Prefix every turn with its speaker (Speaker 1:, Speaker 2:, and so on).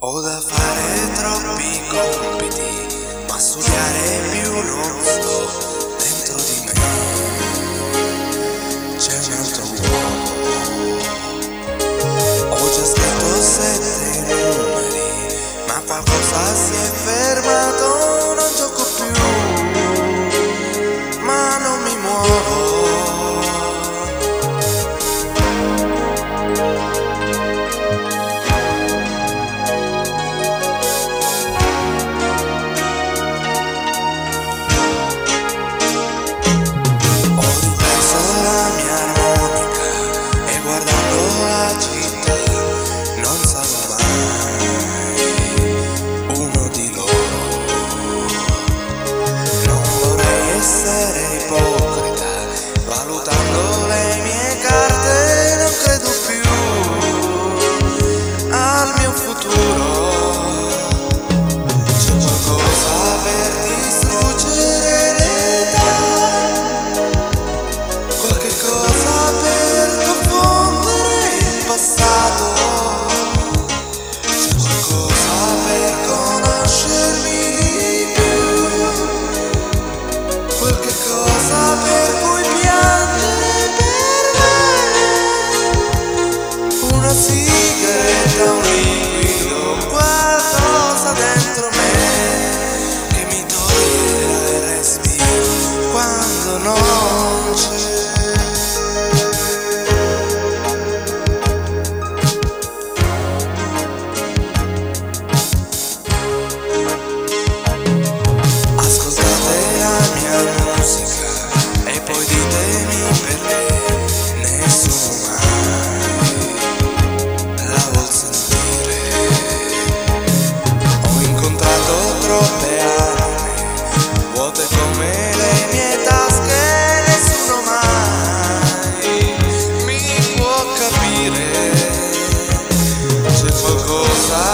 Speaker 1: Ho da fare troppi compiti, ma studiare più non sto. Dentro di me c'è un altro uomo. Ho già scritto 7 numeri, ma qualcosa si è fermato. Non gioco più, ma non mi muovo. Valutando le mie carte non credo più al mio futuro. C'è qualcosa per distruggere l'età, qualche cosa per confondere il passato. C'è qualcosa per conoscermi di più, qualche cosa per cui una sigaretta, un liquido, qualcosa dentro me che mi toglierà il respiro quando non c'è. Ascoltate la mia musica e poi ditemi perché nessuno mai la vuol sentire. Ho incontrato troppe anime vuote come le mie tasche, nessuno mai mi può capire. C'è qualcosa